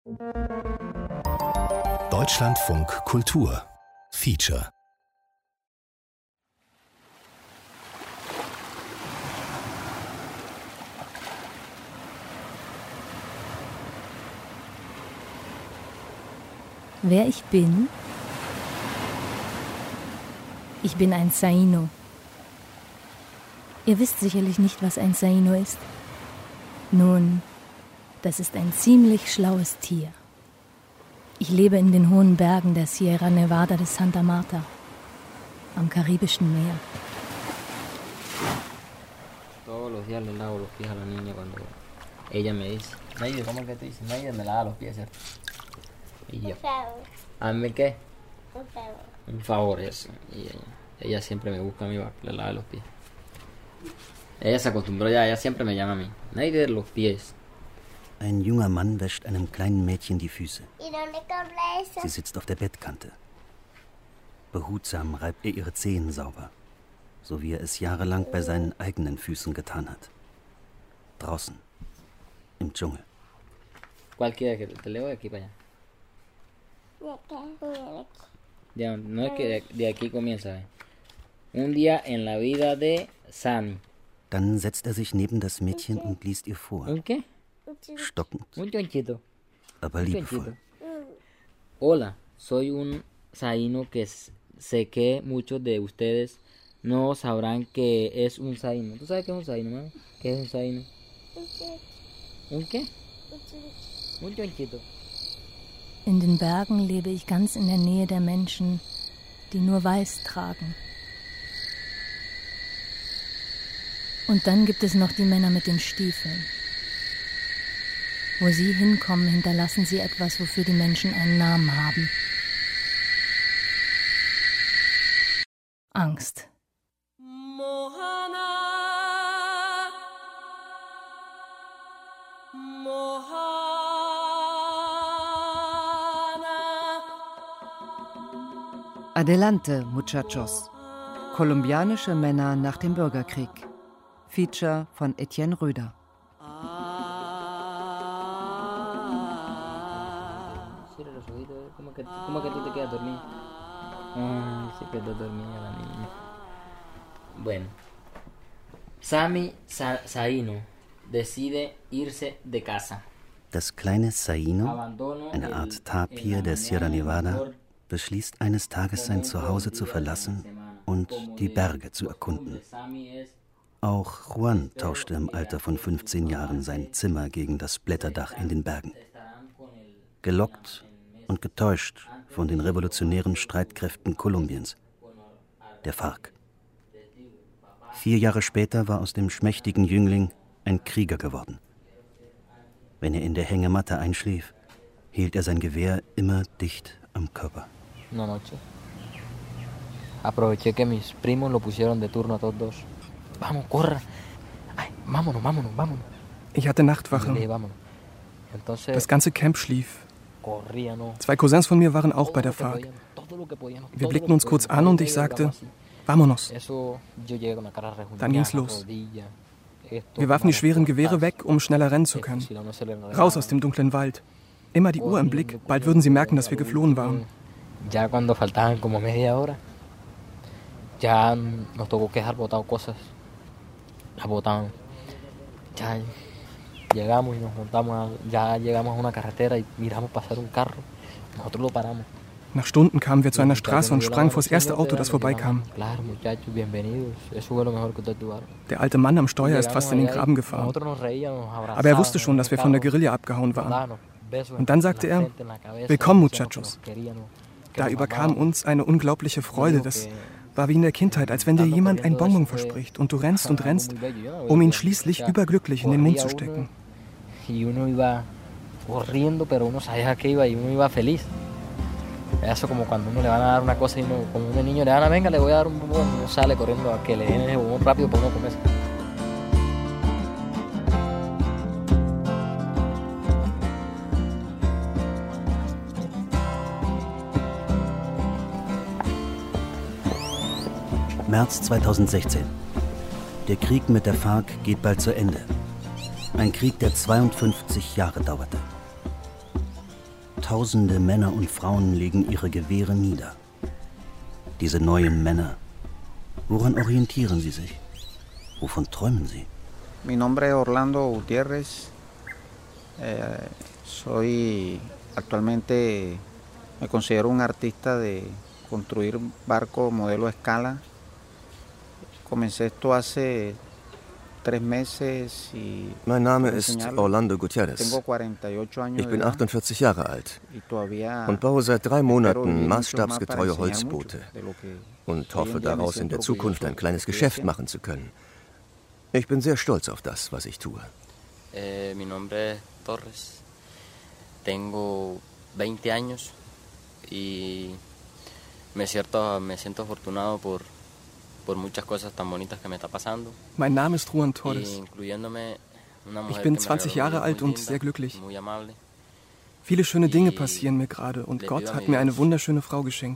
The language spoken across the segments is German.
Deutschlandfunk Kultur Feature. Wer ich bin? Ich bin ein Saino. Ihr wisst sicherlich nicht, was ein Saino ist. Nun, das ist ein ziemlich schlaues Tier. Ich lebe in den hohen Bergen der Sierra Nevada de Santa Marta, am Karibischen Meer. Todos los días le lavo los pies a la niña cuando ella me dice, Mayde, ¿cómo es que te dice? Mayde me lava los pies, ¿cierto? Y yo, ¿a mí qué? Un favor, eso. Y ella siempre me busca a mí para que le lave los pies. Ella se acostumbró ya, ella siempre me llama a mí, Mayde, los pies. Ein junger Mann wäscht einem kleinen Mädchen die Füße. Sie sitzt auf der Bettkante. Behutsam reibt er ihre Zehen sauber, so wie er es jahrelang bei seinen eigenen Füßen getan hat. Draußen, im Dschungel. ¿Cuál quiere que te leo de aquí para allá? Ya, no es que de aquí comienza. Un día en la vida de Sammy. Dann setzt er sich neben das Mädchen und liest ihr vor. ¿Un qué? Stockend, Un chonchito. aber liebevoll. Hola, soy un saíno que sé que muchos de ustedes no sabrán que es un saíno. ¿Tú sabes qué es un saíno, mami? ¿Qué es un saíno? ¿Un qué? Un chonchito. In den Bergen lebe ich ganz in der Nähe der Menschen, die nur Weiß tragen. Und dann gibt es noch die Männer mit den Stiefeln. Wo sie hinkommen, hinterlassen sie etwas, wofür die Menschen einen Namen haben. Angst. Adelante, Muchachos. Kolumbianische Männer nach dem Bürgerkrieg. Feature von Etienne Röder. ¿Cómo que tú te quedas dormido? Se quedó dormida la niña. Bueno. Sammy Saino decide irse de casa. Das kleine Saino, eine Art Tapir der Sierra Nevada, beschließt eines Tages sein Zuhause zu verlassen und die Berge zu erkunden. Auch Juan tauschte im Alter von 15 Jahren sein Zimmer gegen das Blätterdach in den Bergen. Gelockt und getäuscht von den revolutionären Streitkräften Kolumbiens, der FARC. 4 Jahre später war aus dem schmächtigen Jüngling ein Krieger geworden. Wenn er in der Hängematte einschlief, hielt er sein Gewehr immer dicht am Körper. Una noche aproveché que mis primos lo pusieron de turno a todos dos. Vamos, corra. Ay, vámonos. Ich hatte Nachtwache. Das ganze Camp schlief. 2 Cousins von mir waren auch bei der FARC. Wir blickten uns kurz an und ich sagte, Vámonos. Dann ging's los. Wir warfen die schweren Gewehre weg, um schneller rennen zu können. Raus aus dem dunklen Wald. Immer die Uhr im Blick, bald würden sie merken, dass wir geflohen waren. Ya cuando faltaban como media hora, ya nos tocó que dejar botado cosas. Las botaban. Ya llegamos y nos montamos, ya llegamos a una carretera y miramos pasar un carro. Nosotros lo paramos. Nach Stunden kamen wir zu einer Straße und sprangen vor das erste Auto, das vorbeikam. Der alte Mann am Steuer ist fast in den Graben gefahren. Aber er wusste schon, dass wir von der Guerilla abgehauen waren. Und dann sagte er, willkommen, Muchachos. Da überkam uns eine unglaubliche Freude. Das war wie in der Kindheit, als wenn dir jemand ein Bonbon verspricht und du rennst, um ihn schließlich überglücklich in den Mund zu stecken. Eso como cuando uno le van a dar una cosa y uno, como un niño le dan a venga, le voy a dar un bombón, uno sale corriendo a que le den ese bombón rápido para uno comerse. März 2016. Der Krieg mit der FARC geht bald zu Ende. Ein Krieg, der 52 Jahre dauerte. Tausende Männer und Frauen legen ihre Gewehre nieder. Diese neuen Männer, woran orientieren sie sich? Wovon träumen sie? Mi nombre es Orlando Gutiérrez. Soy actualmente, me considero un artista de construir barcos modelo escala. Comencé esto hace 3 meses y... Mein Name ist Orlando Gutierrez. Ich bin 48 Jahre alt und baue seit 3 Monaten maßstabsgetreue Holzboote und hoffe daraus in der Zukunft ein kleines Geschäft machen zu können. Ich bin sehr stolz auf das, was ich tue. Mi nombre es Torres. Tengo 20 años y me siento afortunado por muchas cosas tan bonitas que me está pasando. Mein Name ist Juan Torres. Ich bin 20 Jahre alt und sehr glücklich. Viele schöne Dinge passieren mir gerade und Gott hat mir eine wunderschöne Frau geschenkt.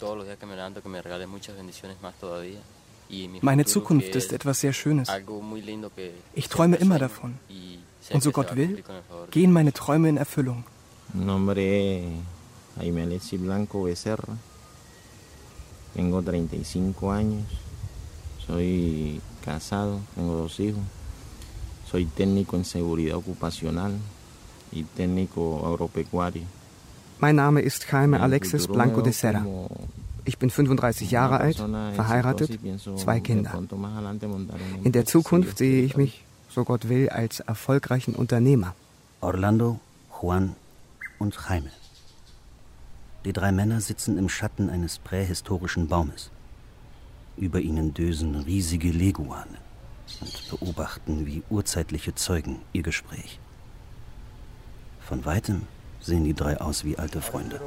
Meine Zukunft ist etwas sehr Schönes. Ich träume immer davon. Und so Gott will, gehen meine Träume in Erfüllung. Nombre Jaime Alexis Blanco Becerra. Tengo 35 años. Soy casado, tengo 2 hijos. Soy técnico en seguridad ocupacional y técnico agropecuario. Mein Name ist Jaime Alexis Blanco de Serra. Ich bin 35 Jahre alt, verheiratet, 2 Kinder. In der Zukunft sehe ich mich, so Gott will, als erfolgreichen Unternehmer. Orlando, Juan und Jaime. Die 3 Männer sitzen im Schatten eines prähistorischen Baumes. Über ihnen dösen riesige Leguane und beobachten wie urzeitliche Zeugen ihr Gespräch. Von weitem sehen die 3 aus wie alte Freunde.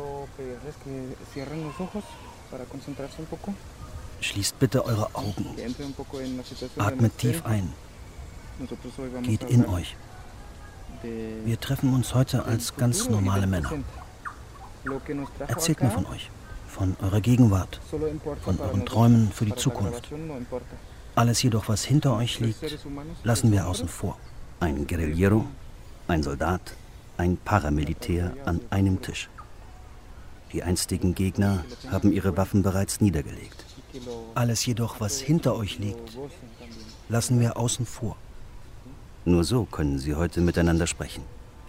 Schließt bitte eure Augen. Atmet tief ein. Geht in euch. Wir treffen uns heute als ganz normale Männer. Erzählt mir von euch, von eurer Gegenwart, von euren Träumen für die Zukunft. Alles jedoch, was hinter euch liegt, lassen wir außen vor. Ein Guerillero, ein Soldat, ein Paramilitär an einem Tisch. Die einstigen Gegner haben ihre Waffen bereits niedergelegt. Alles jedoch, was hinter euch liegt, lassen wir außen vor. Nur so können sie heute miteinander sprechen.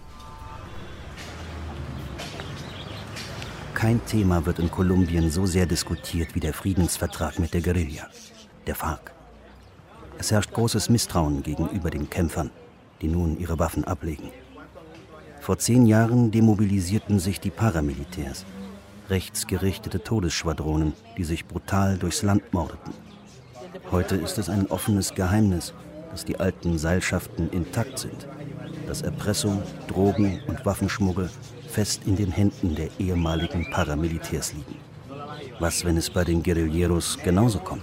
Kein Thema wird in Kolumbien so sehr diskutiert wie der Friedensvertrag mit der Guerilla, der FARC. Es herrscht großes Misstrauen gegenüber den Kämpfern, die nun ihre Waffen ablegen. Vor 10 Jahren demobilisierten sich die Paramilitärs, rechtsgerichtete Todesschwadronen, die sich brutal durchs Land mordeten. Heute ist es ein offenes Geheimnis, dass die alten Seilschaften intakt sind, dass Erpressung, Drogen und Waffenschmuggel fest in den Händen der ehemaligen Paramilitärs liegen. Was, wenn es bei den Guerilleros genauso kommt?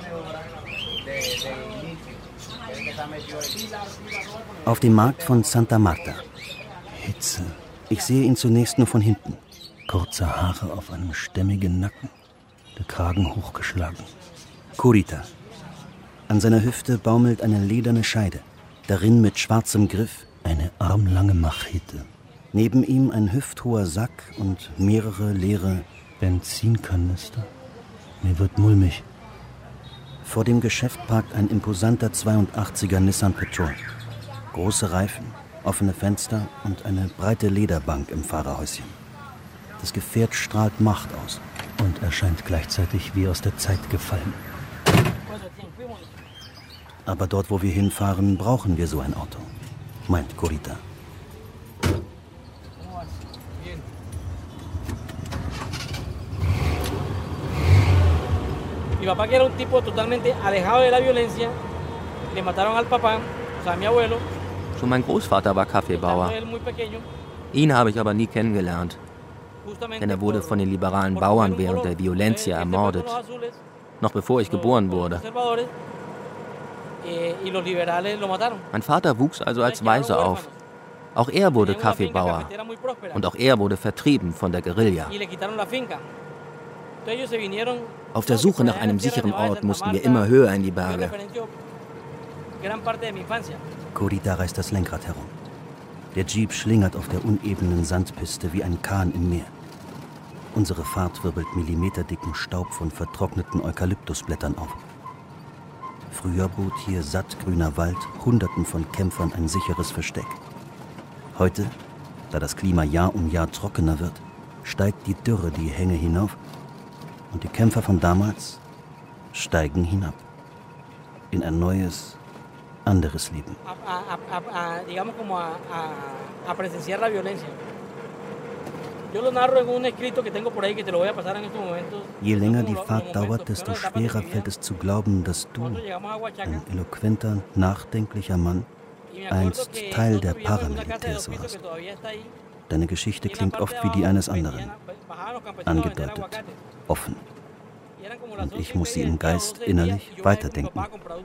Auf dem Markt von Santa Marta. Hitze. Ich sehe ihn zunächst nur von hinten. Kurze Haare auf einem stämmigen Nacken, der Kragen hochgeschlagen. Curita. An seiner Hüfte baumelt eine lederne Scheide. Darin mit schwarzem Griff eine armlange Machete. Neben ihm ein hüfthoher Sack und mehrere leere Benzinkanister. Mir wird mulmig. Vor dem Geschäft parkt ein imposanter 82er Nissan Patrol. Große Reifen, offene Fenster und eine breite Lederbank im Fahrerhäuschen. Das Gefährt strahlt Macht aus und erscheint gleichzeitig wie aus der Zeit gefallen. Aber dort, wo wir hinfahren, brauchen wir so ein Auto, meint Curita. Mi papá, que era un tipo totalmente alejado de la violencia, le mataron al papá, o sea, a mi abuelo. Schon mein Großvater war Kaffeebauer. Ihn habe ich aber nie kennengelernt, denn er wurde von den liberalen Bauern während der Violencia ermordet, noch bevor ich geboren wurde. Mein Vater wuchs also als Waise auf. Auch er wurde Kaffeebauer und auch er wurde vertrieben von der Guerilla. Auf der Suche nach einem sicheren Ort mussten wir immer höher in die Berge. Curita reißt das Lenkrad herum. Der Jeep schlingert auf der unebenen Sandpiste wie ein Kahn im Meer. Unsere Fahrt wirbelt millimeterdicken Staub von vertrockneten Eukalyptusblättern auf. Früher bot hier sattgrüner Wald Hunderten von Kämpfern ein sicheres Versteck. Heute, da das Klima Jahr um Jahr trockener wird, steigt die Dürre die Hänge hinauf und die Kämpfer von damals steigen hinab in ein neues, anderes Leben. Je länger die Fahrt dauert, desto schwerer fällt es zu glauben, dass du, ein eloquenter, nachdenklicher Mann, einst Teil der Paramilitärs warst. Deine Geschichte klingt oft wie die eines anderen, angedeutet, offen. Und ich muss sie im Geist innerlich weiterdenken.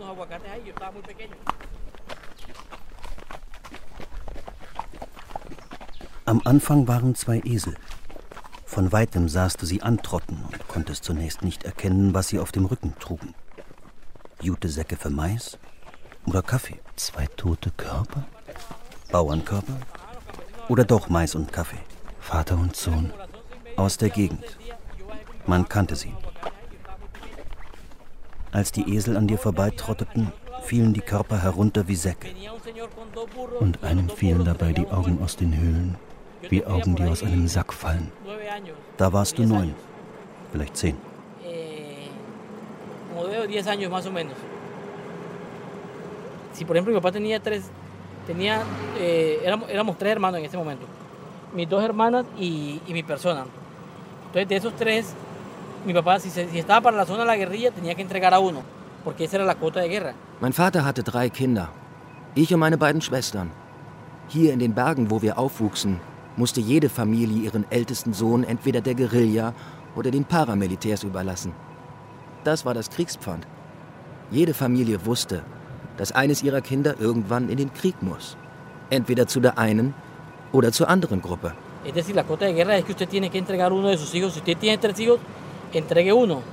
Am Anfang waren 2 Esel. Von weitem sahst du sie antrotten und konntest zunächst nicht erkennen, was sie auf dem Rücken trugen. Jutesäcke für Mais oder Kaffee? 2 tote Körper? Bauernkörper? Oder doch Mais und Kaffee? Vater und Sohn aus der Gegend. Man kannte sie. Als die Esel an dir vorbeitrotteten, fielen die Körper herunter wie Säcke. Und einem fielen dabei die Augen aus den Höhlen, wie Augen, die aus einem Sack fallen. Da warst du 9, vielleicht 10. Si por ejemplo mi papá éramos 3 hermanos en ese momento, mis 2 hermanas y mi persona. Entonces de esos 3, mi papá si estaba para la zona de la guerrilla tenía que entregar a uno, porque esa era la cuota de guerra. Mein Vater hatte 3 Kinder, ich und meine beiden Schwestern. Hier in den Bergen, wo wir aufwuchsen, musste jede Familie ihren ältesten Sohn entweder der Guerilla oder den Paramilitärs überlassen. Das war das Kriegspfand. Jede Familie wusste, dass eines ihrer Kinder irgendwann in den Krieg muss. Entweder zu der einen oder zur anderen Gruppe. Es decir, la cuota de guerra es que usted tiene que entregar uno de sus hijos. Si usted tiene 3 hijos, entregue uno.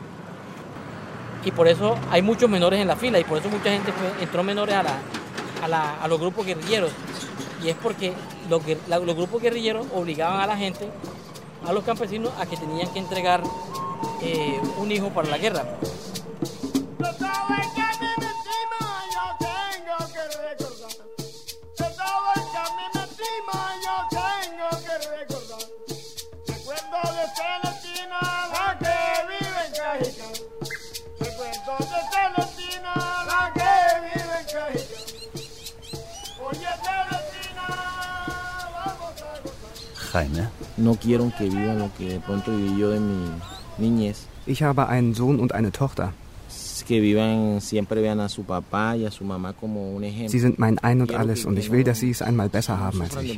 Y por eso hay muchos menores en la fila y por eso mucha gente entró menores a los grupos guerrilleros. Y es porque los grupos guerrilleros obligaban a la gente, a los campesinos, a que tenían que entregar un hijo para la guerra. Jaime? No quiero que vivan lo que de pronto viví yo de mi niñez. Ich habe einen Sohn und eine Tochter. Que vivan, siempre vean a su papá y a su mamá como un ejemplo. Sie sind mein Ein und Alles und ich will, dass sie es einmal besser haben als ich.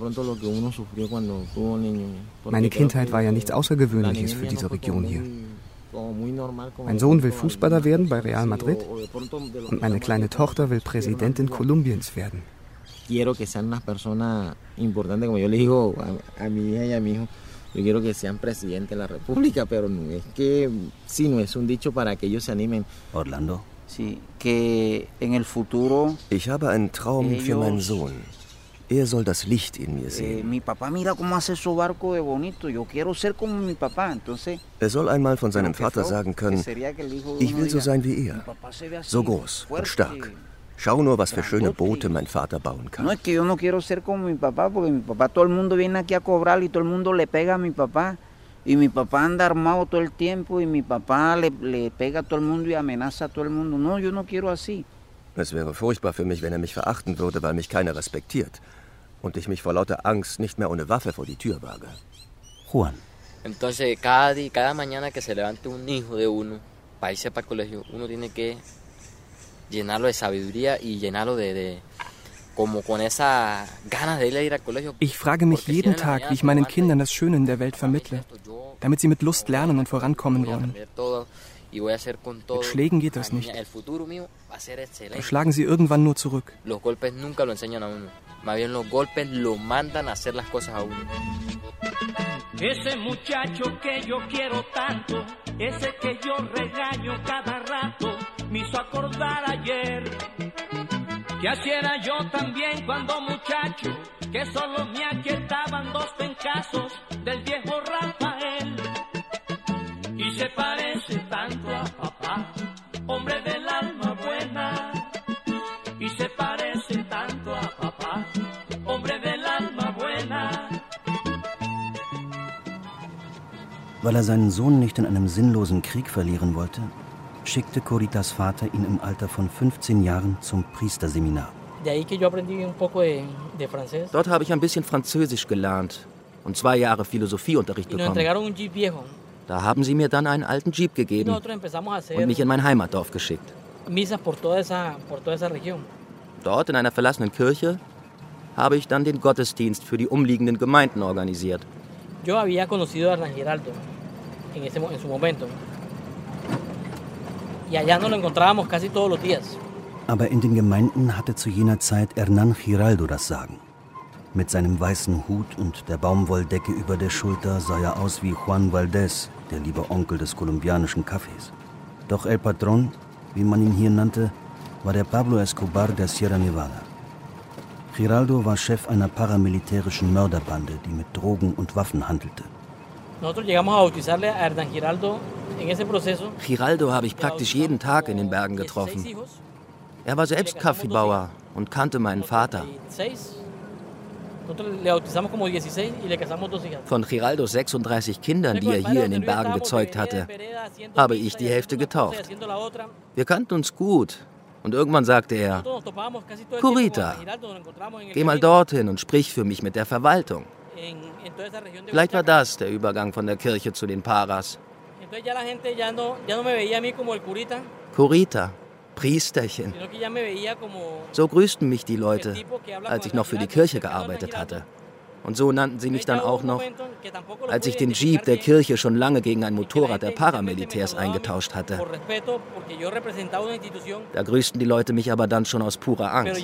Meine Kindheit war ja nichts Außergewöhnliches für diese Region hier. Mein Sohn will Fußballer werden bei Real Madrid und meine kleine Tochter will Präsidentin Kolumbiens werden. Quiero que sean unas personas importantes, como yo le digo a mi hija y a mi hijo. Yo quiero que sean presidente de la República, pero no es que, sí, no es un dicho para que ellos se animen. Orlando? Sí, que en el futuro. Ich habe einen Traum für meinen Sohn. Er soll das Licht in mir sehen. Mi papá mira cómo hace su barco de bonito. Yo quiero ser como mi papá, entonces. Er soll einmal von seinem Vater sagen können: Ich will so sein wie er, so groß und stark. Schau nur, was für schöne Boote mein Vater bauen kann. No es que yo no quiero ser como mi papá, porque mi papá todo el mundo viene aquí a cobrar y todo el mundo le pega a mi papá. Y mi papá anda armado todo el tiempo y mi papá le pega a todo el mundo y amenaza a todo el mundo. No, yo no quiero así. Es wäre furchtbar für mich, wenn er mich verachten würde, weil mich keiner respektiert. Und ich mich vor lauter Angst nicht mehr ohne Waffe vor die Tür wage. Juan. Entonces, cada mañana que se levante un hijo de uno, para irse para el colegio, uno tiene que llenarlo de sabiduría y llenarlo de como con esa ganas de ir al colegio. Ich frage mich jeden Tag, wie ich meinen Kindern das Schöne in der Welt vermittle, damit sie mit Lust lernen und vorankommen wollen. Mit Schlägen geht das nicht. Da schlagen sie irgendwann nur zurück. Los golpes nunca lo enseñan a uno. Más bien los golpes lo mandan a hacer las cosas a uno. Ese muchacho que yo quiero tanto, ese que yo regaño cada rato, me hizo acordar ayer que así era yo también cuando muchacho, que solo me aquietaban 2 pencazos del viejo Rafael. Weil er seinen Sohn nicht in einem sinnlosen Krieg verlieren wollte, schickte Coritas Vater ihn im Alter von 15 Jahren zum Priesterseminar. Dort habe ich ein bisschen Französisch gelernt und 2 Jahre Philosophieunterricht bekommen. Da haben sie mir dann einen alten Jeep gegeben und mich in mein Heimatdorf geschickt. Dort in einer verlassenen Kirche habe ich dann den Gottesdienst für die umliegenden Gemeinden organisiert. Yo había conocido a Hernán Giraldo en su momento. Y allá nos lo encontrábamos casi todos los días. Aber in den Gemeinden hatte zu jener Zeit Hernán Giraldo das Sagen. Mit seinem weißen Hut und der Baumwolldecke über der Schulter sah er aus wie Juan Valdez, der liebe Onkel des kolumbianischen Cafés. Doch El Patron, wie man ihn hier nannte, war der Pablo Escobar der Sierra Nevada. Giraldo war Chef einer paramilitärischen Mörderbande, die mit Drogen und Waffen handelte. Giraldo habe ich praktisch jeden Tag in den Bergen getroffen. Er war selbst Kaffeebauer und kannte meinen Vater. Von Giraldos 36 Kindern, die er hier in den Bergen gezeugt hatte, habe ich die Hälfte getauft. Wir kannten uns gut. Und irgendwann sagte er, Curita, geh mal dorthin und sprich für mich mit der Verwaltung. Vielleicht war das der Übergang von der Kirche zu den Paras. Curita, Priesterchen. So grüßten mich die Leute, als ich noch für die Kirche gearbeitet hatte. Und so nannten sie mich dann auch noch, als ich den Jeep der Kirche schon lange gegen ein Motorrad der Paramilitärs eingetauscht hatte. Da grüßten die Leute mich aber dann schon aus purer Angst.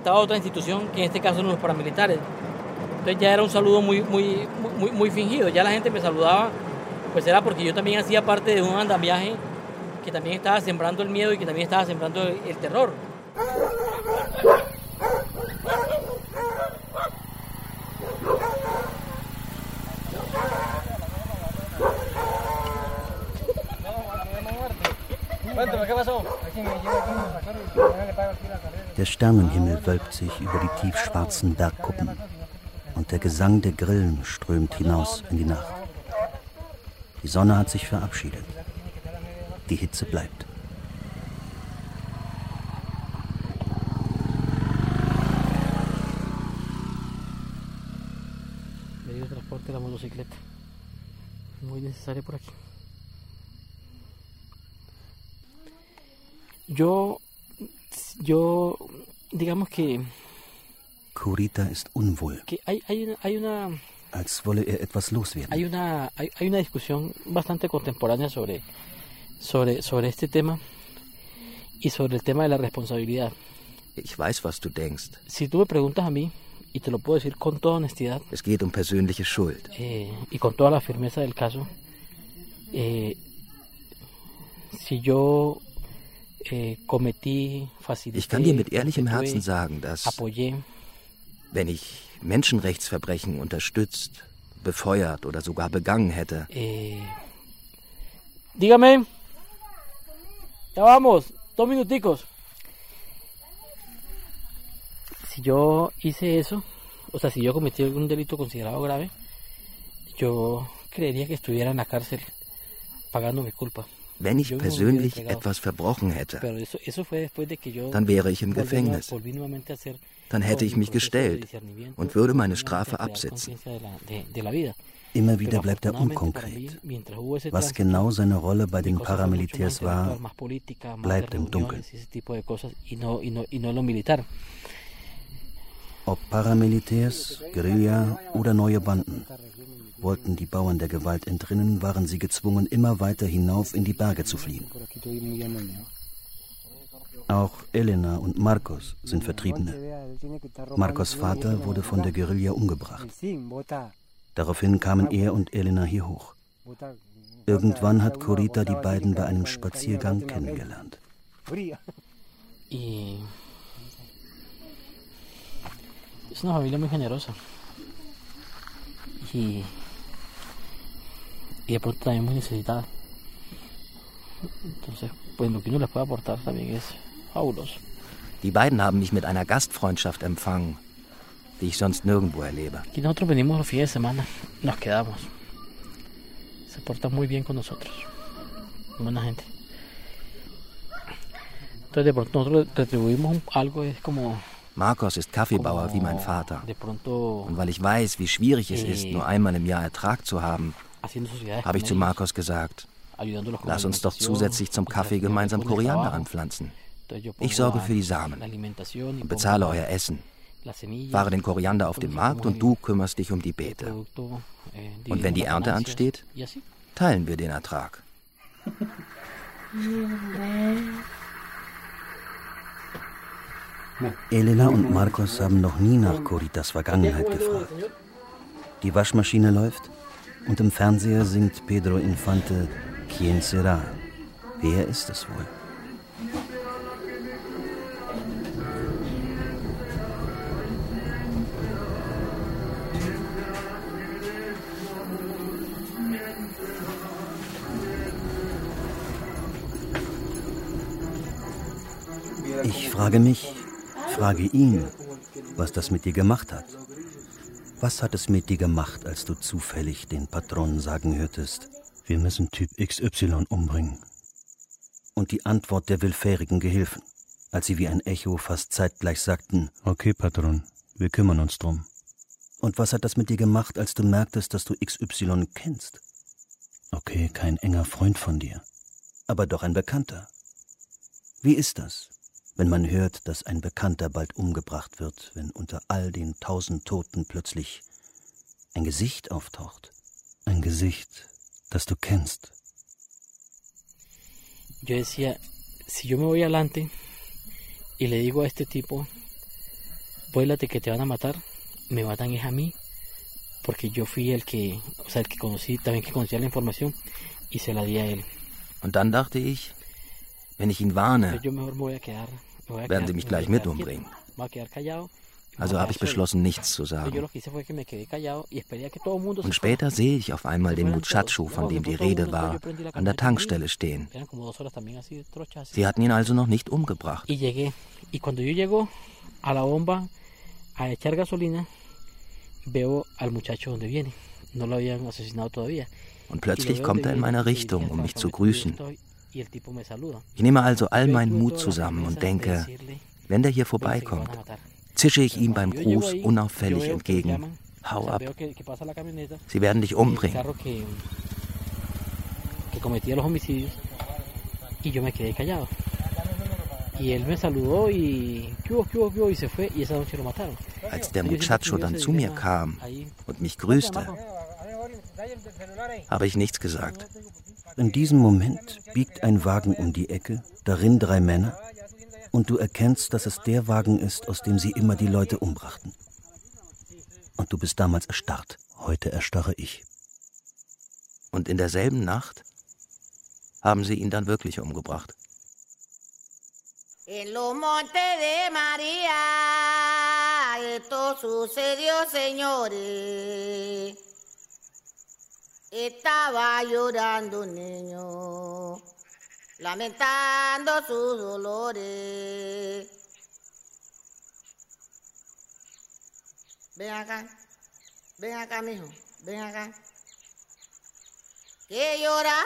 Entonces ya era un saludo muy fingido. Ya la gente me saludaba, pues era porque yo también hacía parte de un andamiaje que también estaba sembrando el miedo y que también estaba sembrando el terror. Der Sternenhimmel wölbt sich über die tiefschwarzen Bergkuppen. Und der Gesang der Grillen strömt hinaus in die Nacht. Die Sonne hat sich verabschiedet. Die Hitze bleibt. Medio de transporte la motocicleta. Muy necesario por aquí. Yo digamos que Curita ist unwohl, als wolle er etwas loswerden. Hay una discusión bastante contemporánea sobre este tema y sobre el tema de la responsabilidad. Ich weiß, was du denkst. Si tú me preguntas a mí, y te lo puedo decir con toda honestidad, es geht persönliche Schuld. Y con toda la firmeza del caso, si yo cometí, facilité, ich kann dir mit ehrlichem Herzen sagen, dass apoyé, wenn ich Menschenrechtsverbrechen unterstützt, befeuert oder sogar begangen hätte. Dígame. Ya vamos, 2 minuticos. Si yo hice eso, o sea, si yo cometí algún delito considerado grave, yo creería que estuviera en la cárcel pagando mi culpa. Wenn ich persönlich etwas verbrochen hätte, dann wäre ich im Gefängnis. Dann hätte ich mich gestellt und würde meine Strafe absitzen. Immer wieder bleibt er unkonkret. Was genau seine Rolle bei den Paramilitärs war, bleibt im Dunkeln. Ob Paramilitärs, Guerilla oder neue Banden. Wollten die Bauern der Gewalt entrinnen, waren sie gezwungen, immer weiter hinauf in die Berge zu fliehen. Auch Elena und Marcos sind Vertriebene. Marcos Vater wurde von der Guerilla umgebracht. Daraufhin kamen er und Elena hier hoch. Irgendwann hat Curita die beiden bei einem Spaziergang kennengelernt. Es una familia muy generosa. Y de pronto también muy necesitada. Entonces, pues lo que uno les puede aportar también es fabuloso. Die beiden haben mich mit einer Gastfreundschaft empfangen, die ich sonst nirgendwo erlebe. Y nosotros venimos los fines de semana, nos quedamos. Se portan muy bien con nosotros. Buena gente. Entonces de pronto nosotros retribuimos algo, es como... Marcos ist Kaffeebauer wie mein Vater. Und weil ich weiß, wie schwierig es ist, nur einmal im Jahr Ertrag zu haben, habe ich zu Marcos gesagt, lass uns doch zusätzlich zum Kaffee gemeinsam Koriander anpflanzen. Ich sorge für die Samen und bezahle euer Essen. Fahre den Koriander auf den Markt und du kümmerst dich um die Beete. Und wenn die Ernte ansteht, teilen wir den Ertrag. Elena und Marcos haben noch nie nach Coritas Vergangenheit gefragt. Die Waschmaschine läuft und im Fernseher singt Pedro Infante Quien será? Wer ist es wohl? Ich frage mich, frage ihn, was das mit dir gemacht hat. Was hat es mit dir gemacht, als du zufällig den Patron sagen hörtest, wir müssen Typ XY umbringen? Und die Antwort der willfährigen Gehilfen, als sie wie ein Echo fast zeitgleich sagten, okay, Patron, wir kümmern uns drum. Und was hat das mit dir gemacht, als du merktest, dass du XY kennst? Okay, kein enger Freund von dir, aber doch ein Bekannter. Wie ist das, wenn man hört, dass ein Bekannter bald umgebracht wird, wenn unter all den 1000 Toten plötzlich ein Gesicht auftaucht? Ein Gesicht, das du kennst. Yo decía, si yo me voy adelante y le digo a este tipo, vuélate que te van a matar, me matan es a mí, porque yo fui el que conocí, también que conocía la información y se la di a él. Und dann dachte ich, wenn ich ihn warne, werden sie mich gleich mit umbringen. Also habe ich beschlossen, nichts zu sagen. Und später sehe ich auf einmal den Muchacho, von dem die Rede war, an der Tankstelle stehen. Sie hatten ihn also noch nicht umgebracht. Und plötzlich kommt er in meine Richtung, um mich zu grüßen. Ich nehme also all meinen Mut zusammen und denke, wenn der hier vorbeikommt, zische ich ihm beim Gruß unauffällig entgegen, hau ab. Sie werden dich umbringen. Als der Muchacho dann zu mir kam und mich grüßte, habe ich nichts gesagt. In diesem Moment biegt ein Wagen um die Ecke, darin 3 Männer, und du erkennst, dass es der Wagen ist, aus dem sie immer die Leute umbrachten. Und du bist damals erstarrt. Heute erstarre ich. Und in derselben Nacht haben sie ihn dann wirklich umgebracht. En los montes de María, esto sucedió, señores. Estaba llorando un niño, lamentando sus dolores. Ven acá, mijo, ven acá. Que lloras,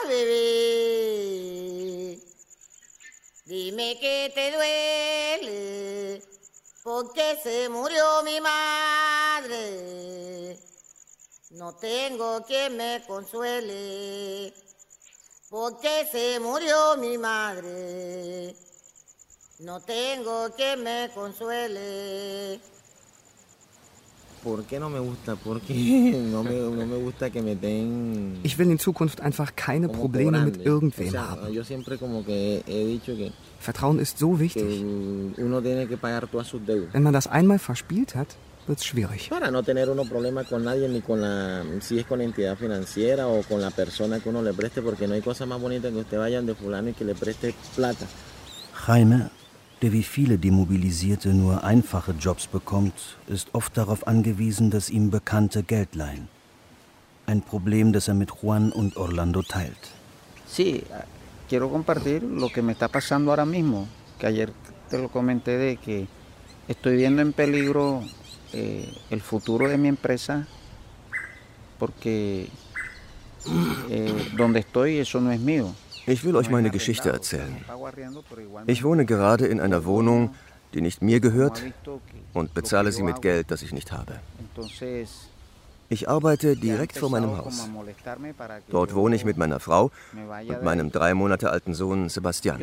bebé. Dime que te duele, porque se murió mi madre. No tengo quien me consuele, porque se murió mi madre. No tengo quien me consuele. ¿Por qué no me gusta? Porque no me gusta que me den... Ich will in Zukunft einfach keine Probleme mit irgendwem haben. Yo siempre como que he dicho que Vertrauen ist so wichtig. Uno tiene que pagar todas sus deudas. Wenn man das einmal verspielt hat, wird es schwierig. Para no tener uno problema con nadie, ni con si es con la entidad financiera o con la persona que uno le preste, porque no hay cosa más bonita que usted vaya donde fulano y que le preste plata. Jaime, der wie viele Demobilisierte nur einfache Jobs bekommt, ist oft darauf angewiesen, dass ihm Bekannte Geld leihen. Ein Problem, das er mit Juan und Orlando teilt. Sí, quiero compartir lo que me está pasando ahora mismo, que ayer te lo comenté de que estoy viendo en peligro el futuro de mi empresa porque Ich will euch meine Geschichte erzählen. Ich wohne gerade in einer Wohnung, die nicht mir gehört, und bezahle sie mit Geld, das ich nicht habe. Ich arbeite direkt vor meinem Haus. Dort wohne ich mit meiner Frau und meinem 3 Monate alten Sohn Sebastián.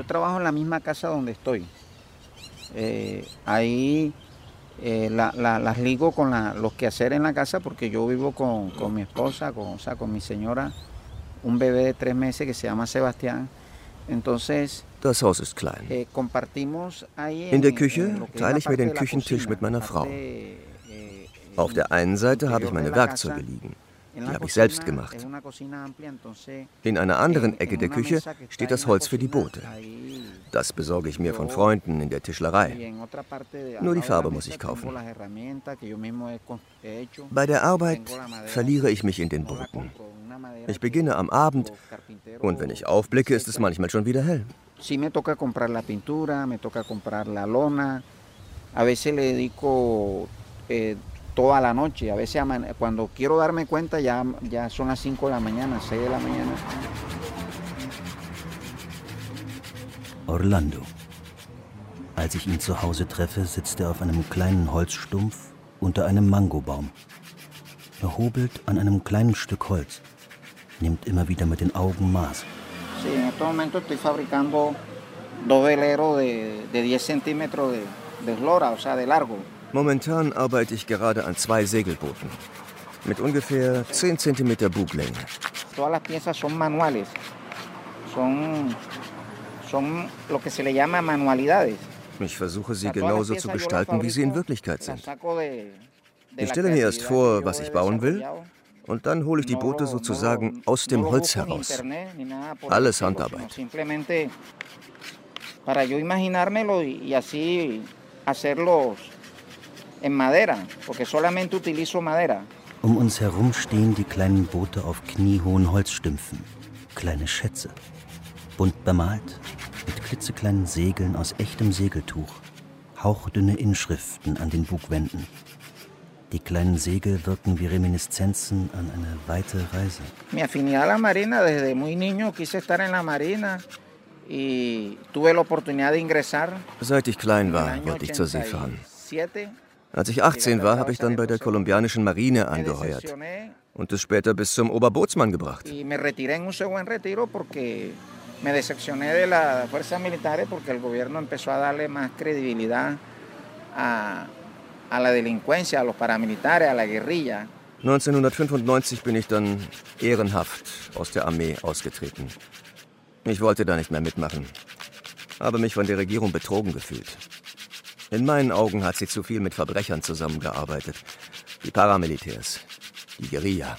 Las ligo con los quehaceres en la casa porque yo vivo con mi esposa, con mi señora, un bebé de 3 meses que se llama Sebastián. Entonces, das Haus ist klein. In der Küche teile ich mir den Küchentisch mit meiner Frau. Auf der einen Seite habe ich meine Werkzeuge liegen. Die habe ich selbst gemacht. In einer anderen Ecke der Küche steht das Holz für die Boote. Das besorge ich mir von Freunden in der Tischlerei. Nur die Farbe muss ich kaufen. Bei der Arbeit verliere ich mich in den Booten. Ich beginne am Abend und wenn ich aufblicke, ist es manchmal schon wieder hell. Sí me toca comprar la pintura, me toca comprar la lona. A veces le dedico toda la noche. A veces cuando quiero darme cuenta ya son las 5 de la mañana, 6 de la mañana. Orlando. Als ich ihn zu Hause treffe, sitzt er auf einem kleinen Holzstumpf unter einem Mangobaum. Er hobelt an einem kleinen Stück Holz, nimmt immer wieder mit den Augen Maß. Sí, en este momento estoy fabricando 2 veleros de 10 centímetros de eslora, o sea, de largo. Momentan arbeite ich gerade an 2 Segelbooten mit ungefähr 10 cm Buglänge. Todas las piezas son manuales, son lo que se le llama manualidades. Ich versuche sie genauso zu gestalten, wie sie in Wirklichkeit sind. Ich stelle mir erst vor, was ich bauen will, und dann hole ich die Boote sozusagen aus dem Holz heraus. Alles Handarbeit. Para yo imaginármelo y así hacerlos en madera, porque solamente utilizo madera. Um uns herum stehen die kleinen Boote auf kniehohen Holzstümpfen. Kleine Schätze. Bunt bemalt, mit klitzekleinen Segeln aus echtem Segeltuch. Hauchdünne Inschriften an den Bugwänden. Die kleinen Segel wirken wie Reminiszenzen an eine weite Reise. Mi afinidad a la marina, desde muy niño quise estar en la marina y tuve la oportunidad de ingresar. Seit ich klein war, wollte ich zur See fahren. Als ich 18 war, habe ich dann bei der kolumbianischen Marine angeheuert und es später bis zum Oberbootsmann gebracht. Me retiré en un buen retiro porque me decepcioné de las fuerzas militares porque el gobierno empezó a darle más credibilidad a la delincuencia, a los paramilitares, a la guerrilla. 1995 bin ich dann ehrenhaft aus der Armee ausgetreten. Ich wollte da nicht mehr mitmachen, habe mich von der Regierung betrogen gefühlt. In meinen Augen hat sie zu viel mit Verbrechern zusammengearbeitet. Die Paramilitärs, die Guerilla.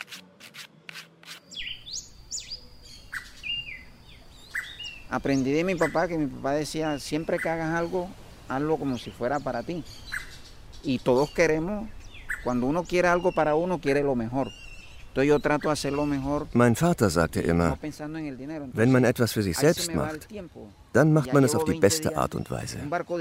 Aprendí de mi papá que mi papá decía, siempre que hagas algo, hazlo como si fuera para ti. Y todos queremos, cuando uno quiere algo para uno, quiere lo mejor. Entonces yo trato de hacer lo mejor. Mein Vater sagte immer, wenn man etwas für sich selbst macht, dann macht man es auf die beste Art und Weise.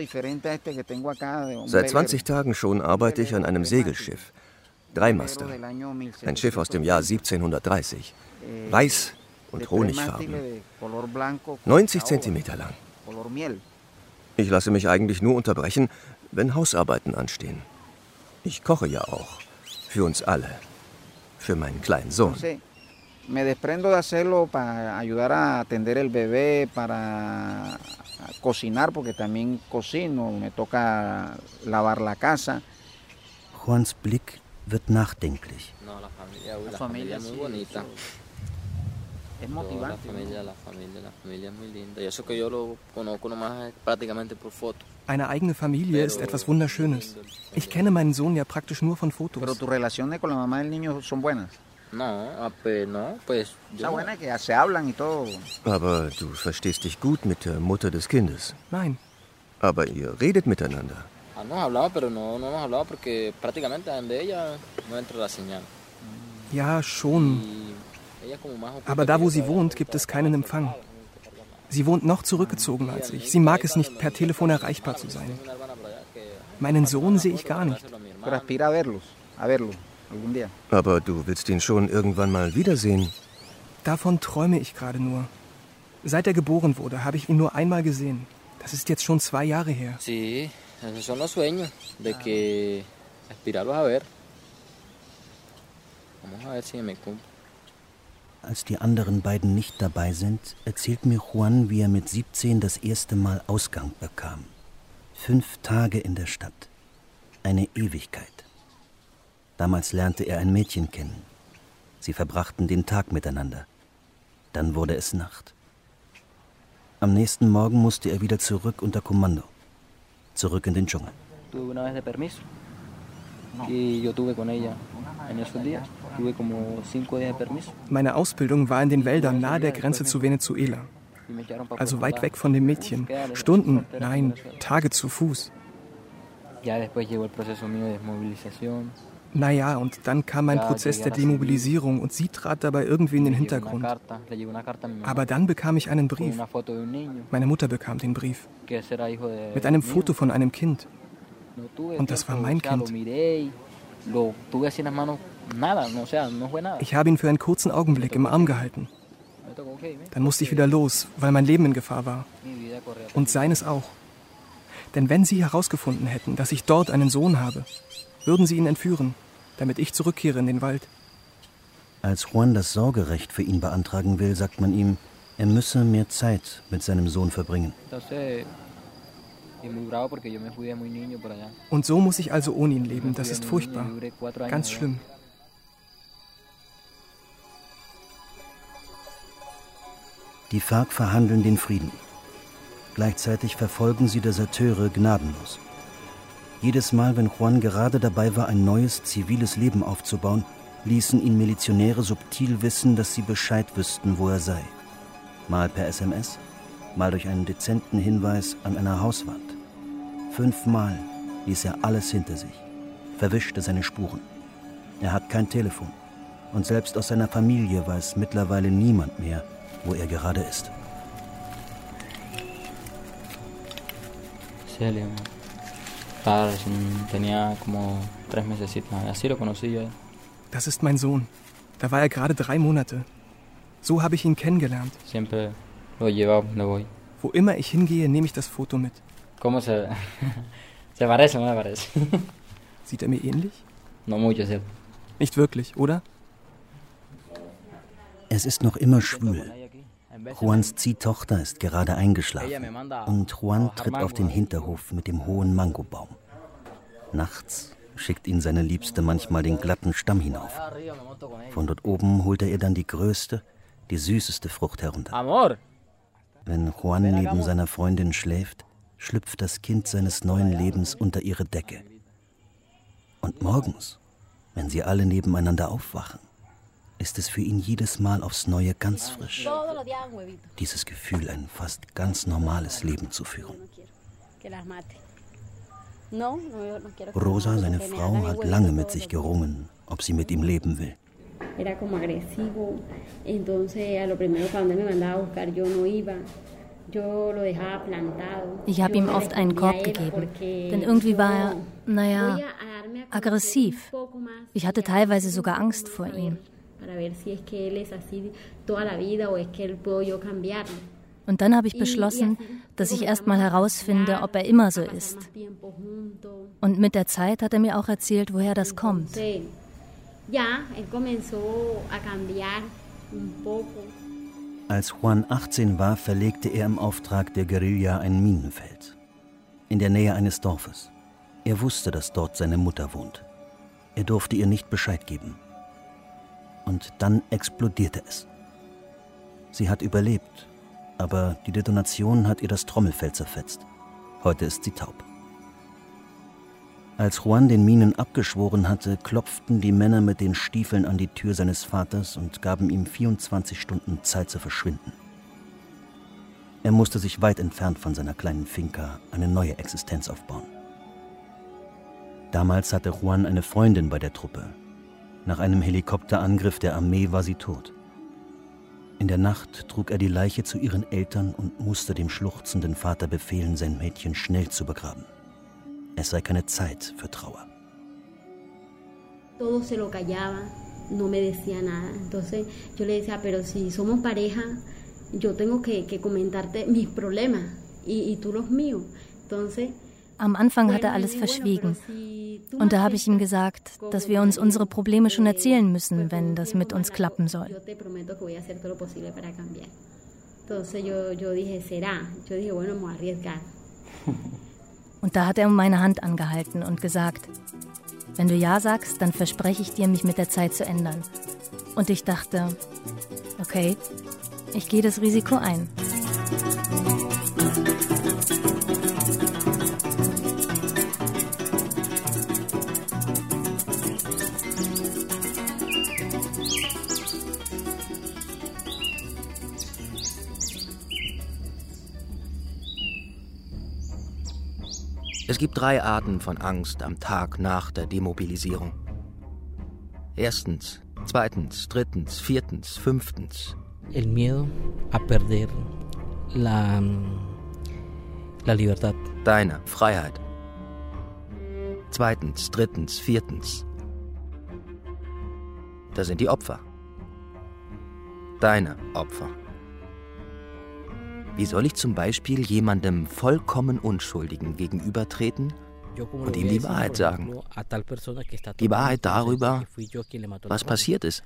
Seit 20 Tagen schon arbeite ich an einem Segelschiff. 3-Master. Ein Schiff aus dem Jahr 1730. Weiß und Honigfarben. 90 Zentimeter lang. Ich lasse mich eigentlich nur unterbrechen, wenn Hausarbeiten anstehen. Ich koche ja auch. Für uns alle. Für meinen kleinen Sohn. Me desprendo de hacerlo para ayudar a atender el bebé, para cocinar, porque también cocino, me toca lavar la casa. Juans Blick wird nachdenklich. No, la familia es muy bonita. Es motivante. La familia es muy linda. Y eso que yo lo conozco nomás prácticamente por foto. Eine eigene Familie ist etwas Wunderschönes. Ich kenne meinen Sohn ja praktisch nur von Fotos. Pero tus relaciones con la mamá del niño son buenas. No, pues yo. Buena que se hablan y todo. Aber du verstehst dich gut mit der Mutter des Kindes. Nein. Aber ihr redet miteinander. Nos hablamos, pero no hemos hablado porque prácticamente donde ella no entra la señal. Ja, schon. Aber da, wo sie wohnt, gibt es keinen Empfang. Sie wohnt noch zurückgezogen als ich. Sie mag es nicht, per Telefon erreichbar zu sein. Meinen Sohn sehe ich gar nicht. Aber du willst ihn schon irgendwann mal wiedersehen. Davon träume ich gerade nur. Seit er geboren wurde, habe ich ihn nur einmal gesehen. Das ist jetzt schon 2 Jahre her. Sí, esos son los sueños, de que aspirarlos a ver. Vamos a ver si me cumple. Als die anderen beiden nicht dabei sind, erzählt mir Juan, wie er mit 17 das erste Mal Ausgang bekam. 5 Tage in der Stadt. Eine Ewigkeit. Damals lernte er ein Mädchen kennen. Sie verbrachten den Tag miteinander. Dann wurde es Nacht. Am nächsten Morgen musste er wieder zurück unter Kommando. Zurück in den Dschungel. Meine Ausbildung war in den Wäldern nahe der Grenze zu Venezuela. Also weit weg von dem Mädchen. Stunden, nein, Tage zu Fuß. Naja, und dann kam mein Prozess der Demobilisierung und sie trat dabei irgendwie in den Hintergrund. Aber dann bekam ich einen Brief. Meine Mutter bekam den Brief. Mit einem Foto von einem Kind. Und das war mein Kind. Ich habe ihn für einen kurzen Augenblick im Arm gehalten. Dann musste ich wieder los, weil mein Leben in Gefahr war. Und seines auch. Denn wenn Sie herausgefunden hätten, dass ich dort einen Sohn habe, würden Sie ihn entführen, damit ich zurückkehre in den Wald. Als Juan das Sorgerecht für ihn beantragen will, sagt man ihm, er müsse mehr Zeit mit seinem Sohn verbringen. Und so muss ich also ohne ihn leben. Das ist furchtbar. Ganz schlimm. Die FARC verhandeln den Frieden. Gleichzeitig verfolgen sie Deserteure gnadenlos. Jedes Mal, wenn Juan gerade dabei war, ein neues, ziviles Leben aufzubauen, ließen ihn Milizionäre subtil wissen, dass sie Bescheid wüssten, wo er sei. Mal per SMS, mal durch einen dezenten Hinweis an einer Hauswand. 5 Mal ließ er alles hinter sich, verwischte seine Spuren. Er hat kein Telefon und selbst aus seiner Familie weiß mittlerweile niemand mehr, wo er gerade ist. Celia, tenía como 3 mesecitos, así lo conocí yo. Das ist mein Sohn. Da war er gerade 3 Monate. So habe ich ihn kennengelernt. Siempre lo llevaba donde voy. Wo immer ich hingehe, nehme ich das Foto mit. ¿Cómo se parece, no me parece? Sieht er mir ähnlich? No mucho, sí. Nicht wirklich, oder? Es ist noch immer schwül. Juans Ziehtochter ist gerade eingeschlafen und Juan tritt auf den Hinterhof mit dem hohen Mangobaum. Nachts schickt ihn seine Liebste manchmal den glatten Stamm hinauf. Von dort oben holt er ihr dann die größte, die süßeste Frucht herunter. Wenn Juan neben seiner Freundin schläft, schlüpft das Kind seines neuen Lebens unter ihre Decke. Und morgens, wenn sie alle nebeneinander aufwachen, ist es für ihn jedes Mal aufs Neue ganz frisch. Dieses Gefühl, ein fast ganz normales Leben zu führen. Rosa, seine Frau, hat lange mit sich gerungen, ob sie mit ihm leben will. Ich habe ihm oft einen Korb gegeben, denn irgendwie war er, aggressiv. Ich hatte teilweise sogar Angst vor ihm. Und dann habe ich beschlossen, dass ich erst mal herausfinde, ob er immer so ist. Und mit der Zeit hat er mir auch erzählt, woher das kommt. Als Juan 18 war, verlegte er im Auftrag der Guerilla ein Minenfeld. In der Nähe eines Dorfes. Er wusste, dass dort seine Mutter wohnt. Er durfte ihr nicht Bescheid geben. Und dann explodierte es. Sie hat überlebt, aber die Detonation hat ihr das Trommelfell zerfetzt. Heute ist sie taub. Als Juan den Minen abgeschworen hatte, klopften die Männer mit den Stiefeln an die Tür seines Vaters und gaben ihm 24 Stunden Zeit zu verschwinden. Er musste sich weit entfernt von seiner kleinen Finca eine neue Existenz aufbauen. Damals hatte Juan eine Freundin bei der Truppe. Nach einem Helikopterangriff der Armee war sie tot. In der Nacht trug er die Leiche zu ihren Eltern und musste dem schluchzenden Vater befehlen, sein Mädchen schnell zu begraben. Es sei keine Zeit für Trauer. no me decía nada. Entonces yo le decía, pero si somos pareja, yo tengo que comentarte mis problemas y tú los míos. Entonces, am Anfang hat er alles verschwiegen. Und da habe ich ihm gesagt, dass wir uns unsere Probleme schon erzählen müssen, wenn das mit uns klappen soll. Und da hat er meine Hand angehalten und gesagt, wenn du Ja sagst, dann verspreche ich dir, mich mit der Zeit zu ändern. Und ich dachte, okay, ich gehe das Risiko ein. Es gibt 3 Arten von Angst am Tag nach der Demobilisierung. 1., 2., 3., 4., 5. El miedo a perder la libertad. Deine Freiheit. 2., 3., 4. Da sind die Opfer. Deine Opfer. Wie soll ich zum Beispiel jemandem vollkommen Unschuldigen gegenübertreten und ihm die Wahrheit sagen? Die Wahrheit darüber, was passiert ist.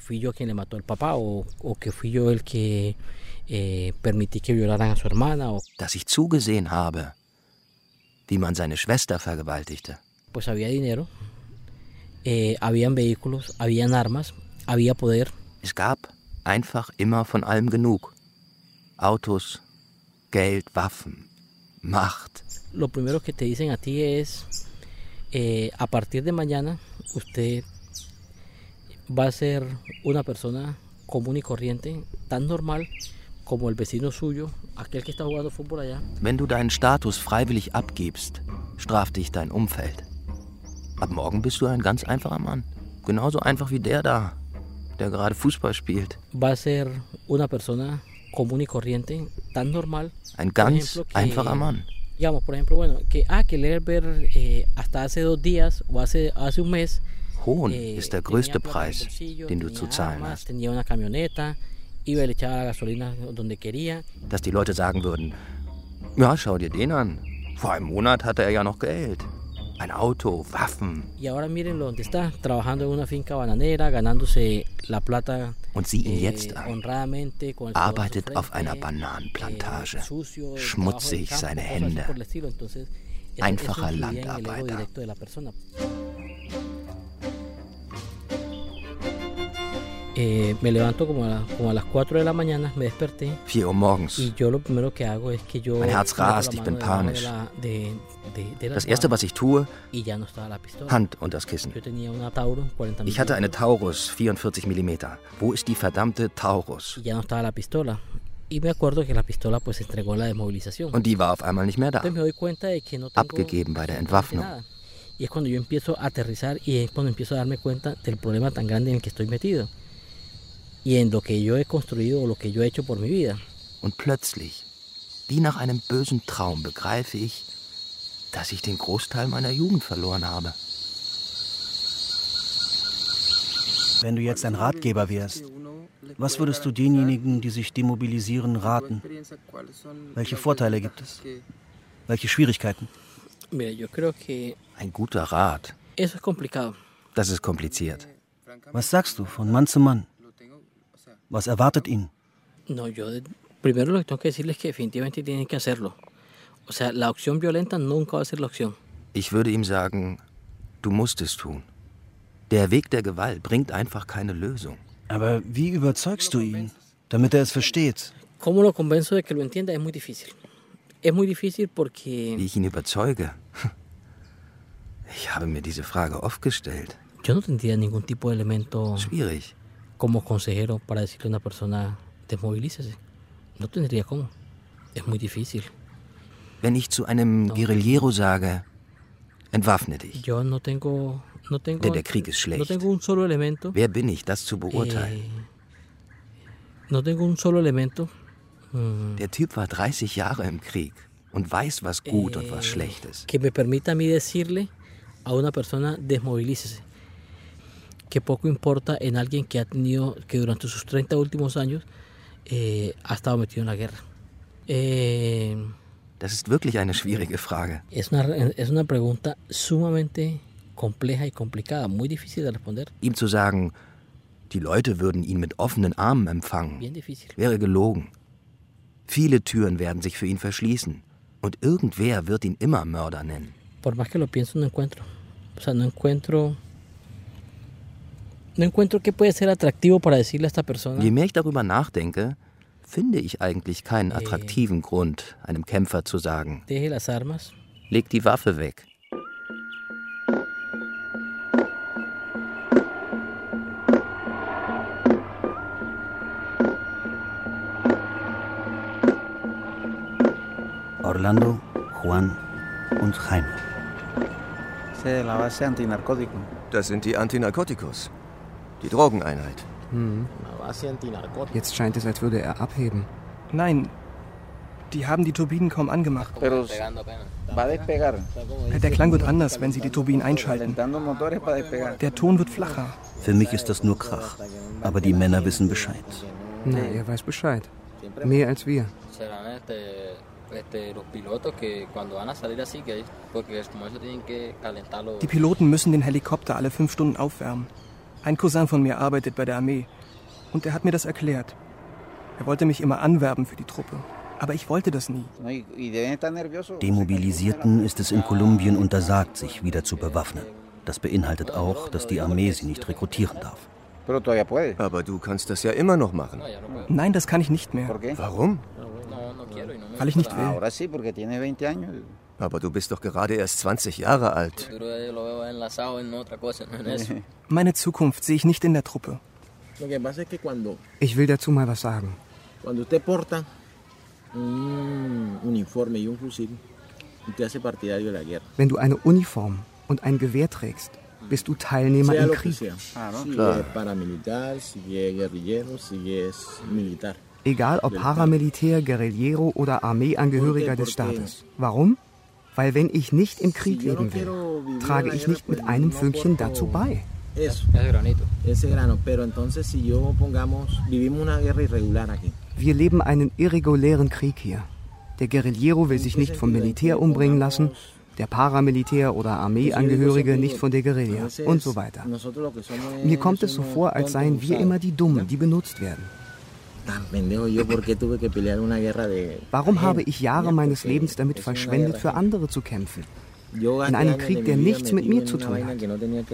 Dass ich zugesehen habe, wie man seine Schwester vergewaltigte. Pues había dinero, habían vehículos, habían armas, había poder. Es gab einfach immer von allem genug. Autos, Geld, Waffen, Macht. Lo primero que te dicen a ti es, a partir de mañana usted va a ser una persona común y corriente, tan normal como el vecino suyo, aquel que está jugando fútbol allá. Wenn du deinen Status freiwillig abgibst, straft dich dein Umfeld. Ab morgen bist du ein ganz einfacher Mann. Genauso einfach wie der da, der gerade Fußball spielt. Va a ser una persona común y corriente, tan normal. Ein ganz einfacher Mann. Digamos, por ejemplo, bueno, que leer ver hasta hace 2 días o hace un mes. Hohn ist der größte Preis, den du zu zahlen hast. Tenía una camioneta, iba y le echaba la gasolina donde quería. Dass die Leute sagen würden, ja, schau dir den an. Vor einem Monat hatte er ja noch Geld. Ein Auto, Waffen. Y ahora mírenlo donde está, trabajando en una finca bananera, ganándose la plata. Und sieh ihn jetzt an. Arbeitet auf einer Bananenplantage. Schmutzig seine Hände. Einfacher Landarbeiter. Me levanto como a las 4 de la mañana, me desperté. 4 Uhr morgens. Y yo lo primero que hago es que yo. Mein Herz rast, ich bin panisch. Das Erste, was ich tue, Hand unter das Kissen. Ich hatte eine Taurus 44 mm. Wo ist die verdammte Taurus? Und die war auf einmal nicht mehr da. Abgegeben bei der Entwaffnung. Y es cuando yo empiezo a aterrizar y es cuando empiezo a darme cuenta del problema tan grande en el que estoy metido. Y en lo que yo he construido o lo que yo he hecho por mi vida. Und plötzlich, wie nach einem bösen Traum, begreife ich, dass ich den Großteil meiner Jugend verloren habe. Wenn du jetzt ein Ratgeber wärst, was würdest du denjenigen, die sich demobilisieren, raten? Welche Vorteile gibt es? Welche Schwierigkeiten? Ein guter Rat. Das ist kompliziert. Was sagst du von Mann zu Mann? Was erwartet ihn? Primero lo que tengo que decirles es que definitivamente tienen que hacerlo. O sea, la opción violenta nunca va a ser la opción. Ich würde ihm sagen, du musst es tun. Der Weg der Gewalt bringt einfach keine Lösung. Aber wie überzeugst du ihn, damit er es versteht? ¿Cómo lo convenzo de que lo entienda? Es muy difícil. Es muy difícil porque... Wie ich ihn überzeuge? Ich habe mir diese Frage oft gestellt. Yo no tendría ningún tipo de elemento... Schwierig. Como consejero para decirle a una persona, desmovilícese. No tendría cómo. Es muy difícil. Wenn ich zu einem Guerillero sage, entwaffne dich. Yo no tengo... Der Krieg ist schlecht. No tengo un solo elemento. Wer bin ich, das zu beurteilen? No tengo un solo elemento. Der Typ war 30 Jahre im Krieg und weiß, was gut und was schlecht ist. Que me permita a mí decirle a una persona, desmovilícese. que poco importa en alguien que durante sus 30 últimos años ha estado metido en la guerra. Das ist wirklich eine schwierige Frage. Es una pregunta sumamente compleja y complicada, muy difícil de responder. Ihm zu sagen, die Leute würden ihn mit offenen Armen empfangen, wäre gelogen. Viele Türen werden sich für ihn verschließen und irgendwer wird ihn immer Mörder nennen. Por más que lo pienso, no encuentro. O sea, no encuentro qué puede ser atractivo para decirle a esta persona. Je mehr ich darüber nachdenke, finde ich eigentlich keinen attraktiven Grund, einem Kämpfer zu sagen, deje las armas. Leg die Waffe weg. Orlando, Juan und Jaime. Das sind die Antinarkotikos, die Drogeneinheit. Jetzt scheint es, als würde er abheben. Nein, die haben die Turbinen kaum angemacht. Der Klang wird anders, wenn sie die Turbinen einschalten. Der Ton wird flacher. Für mich ist das nur Krach. Aber die Männer wissen Bescheid. Na, er weiß Bescheid. Mehr als wir. Die Piloten müssen den Helikopter alle 5 Stunden aufwärmen. Ein Cousin von mir arbeitet bei der Armee. Und er hat mir das erklärt. Er wollte mich immer anwerben für die Truppe. Aber ich wollte das nie. Demobilisierten ist es in Kolumbien untersagt, sich wieder zu bewaffnen. Das beinhaltet auch, dass die Armee sie nicht rekrutieren darf. Aber du kannst das ja immer noch machen. Nein, das kann ich nicht mehr. Warum? Weil ich nicht will. Aber du bist doch gerade erst 20 Jahre alt. Meine Zukunft sehe ich nicht in der Truppe. Ich will dazu mal was sagen. Wenn du eine Uniform und ein Gewehr trägst, bist du Teilnehmer im Krieg. Egal ob Paramilitär, Guerillero oder Armeeangehöriger des Staates. Warum? Weil wenn ich nicht im Krieg leben will, trage ich nicht mit einem Fünkchen dazu bei. Wir leben einen irregulären Krieg hier. Der Guerillero will sich nicht vom Militär umbringen lassen, der Paramilitär oder Armeeangehörige nicht von der Guerilla und so weiter. Mir kommt es so vor, als seien wir immer die Dummen, die benutzt werden. Warum habe ich Jahre meines Lebens damit verschwendet, für andere zu kämpfen? In einem Krieg, der nichts mit mir zu tun hat.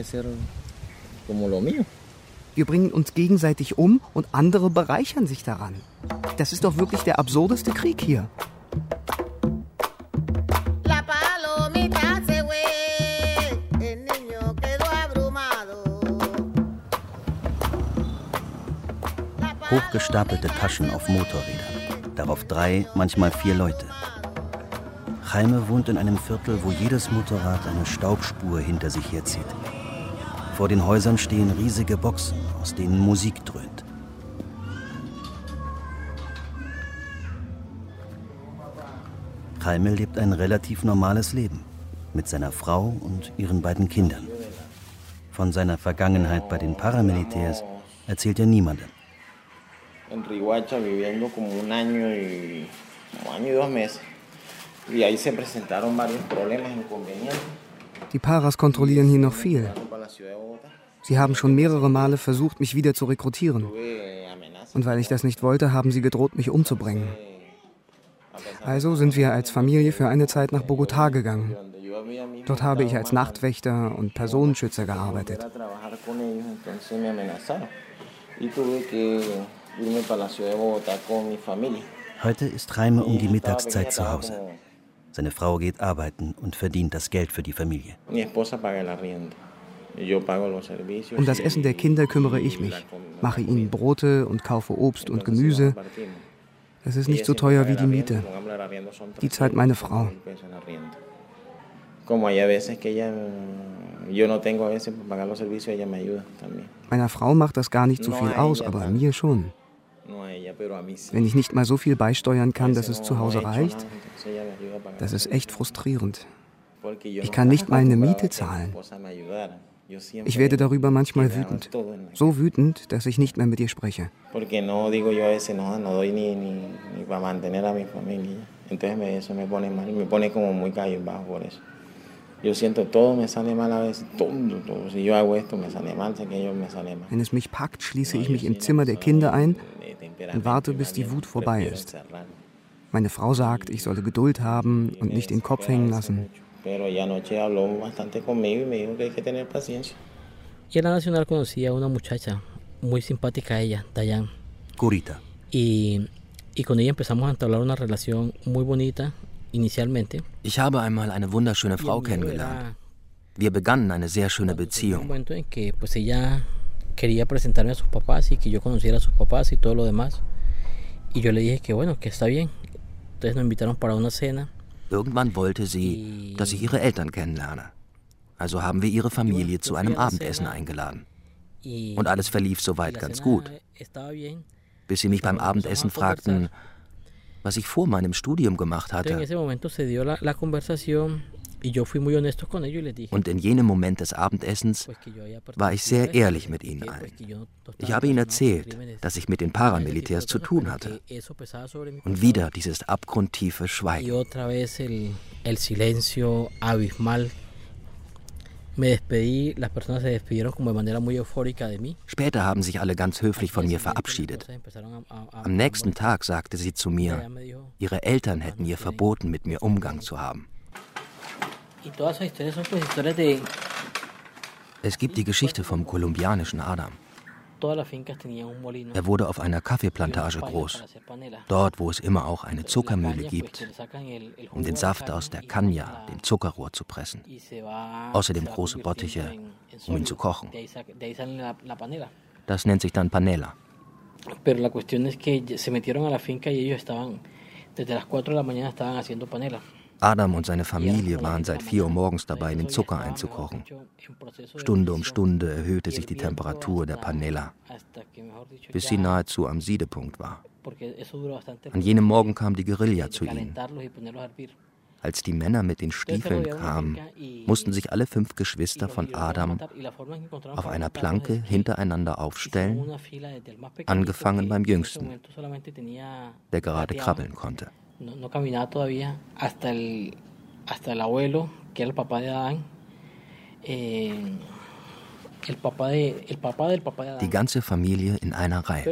Wir bringen uns gegenseitig um und andere bereichern sich daran. Das ist doch wirklich der absurdeste Krieg hier. Hochgestapelte Taschen auf Motorrädern. Darauf 3, manchmal 4 Leute. Jaime wohnt in einem Viertel, wo jedes Motorrad eine Staubspur hinter sich herzieht. Vor den Häusern stehen riesige Boxen, aus denen Musik dröhnt. Jaime lebt ein relativ normales Leben mit seiner Frau und ihren beiden Kindern. Von seiner Vergangenheit bei den Paramilitärs erzählt er niemandem. En Riguacha viviendo como un año y 2 meses. Y ahí se presentaron varios problemas, inconvenientes. Die Paras kontrollieren hier noch viel. Sie haben schon mehrere Male versucht, mich wieder zu rekrutieren. Und weil ich das nicht wollte, haben sie gedroht, mich umzubringen. Also sind wir als Familie für eine Zeit nach Bogotá gegangen. Dort habe ich als Nachtwächter und Personenschützer gearbeitet. Heute ist Jaime um die Mittagszeit zu Hause. Seine Frau geht arbeiten und verdient das Geld für die Familie. Um das Essen der Kinder kümmere ich mich, mache ihnen Brote und kaufe Obst und Gemüse. Es ist nicht so teuer wie die Miete. Die zahlt meine Frau. Meiner Frau macht das gar nicht so viel aus, aber mir schon. Wenn ich nicht mal so viel beisteuern kann, dass es zu Hause reicht, das ist echt frustrierend. Ich kann nicht mal eine Miete zahlen. Ich werde darüber manchmal wütend. So wütend, dass ich nicht mehr mit ihr spreche. Wenn es mich packt, schließe ich mich im Zimmer der Kinder ein und warte, bis die Wut vorbei ist. Meine Frau sagt, ich solle Geduld haben und nicht den Kopf hängen lassen. Y en la Nacional conocí a una muchacha muy simpática, ella, Dayan. Gurita. Y con ella empezamos a entablar una relación muy bonita inicialmente. Ich habe einmal eine wunderschöne Frau kennengelernt. Wir begannen eine sehr schöne Beziehung. Un momento en que pues ella quería presentarme a sus papás y que yo conociera a sus papás y todo lo demás. Y yo le dije que bueno, que está bien. Entonces nos invitaron para una cena. Irgendwann wollte sie, dass ich ihre Eltern kennenlerne. Also haben wir ihre Familie zu einem Abendessen eingeladen. Und alles verlief soweit ganz gut. Bis sie mich beim Abendessen fragten, was ich vor meinem Studium gemacht hatte. Und in jenem Moment des Abendessens war ich sehr ehrlich mit ihnen allen. Ich habe ihnen erzählt, dass ich mit den Paramilitärs zu tun hatte. Und wieder dieses abgrundtiefe Schweigen. Später haben sich alle ganz höflich von mir verabschiedet. Am nächsten Tag sagte sie zu mir, ihre Eltern hätten ihr verboten, mit mir Umgang zu haben. Es gibt die Geschichte vom kolumbianischen Adam. Er wurde auf einer Kaffeeplantage groß, dort, wo es immer auch eine Zuckermühle gibt, um den Saft aus der Caña, dem Zuckerrohr, zu pressen. Außerdem große Bottiche, um ihn zu kochen. Das nennt sich dann Panela. Pero la cuestión es que se metieron a la finca y ellos estaban desde las 4 de la mañana estaban haciendo panela. Adam und seine Familie waren seit 4 Uhr morgens dabei, den Zucker einzukochen. Stunde um Stunde erhöhte sich die Temperatur der Panela, bis sie nahezu am Siedepunkt war. An jenem Morgen kam die Guerilla zu ihnen. Als die Männer mit den Stiefeln kamen, mussten sich alle 5 Geschwister von Adam auf einer Planke hintereinander aufstellen, angefangen beim Jüngsten, der gerade krabbeln konnte. No caminaba todavía hasta el abuelo, que era el papá de Adán, el papá del papá de Adán. Die ganze Familie in einer Reihe.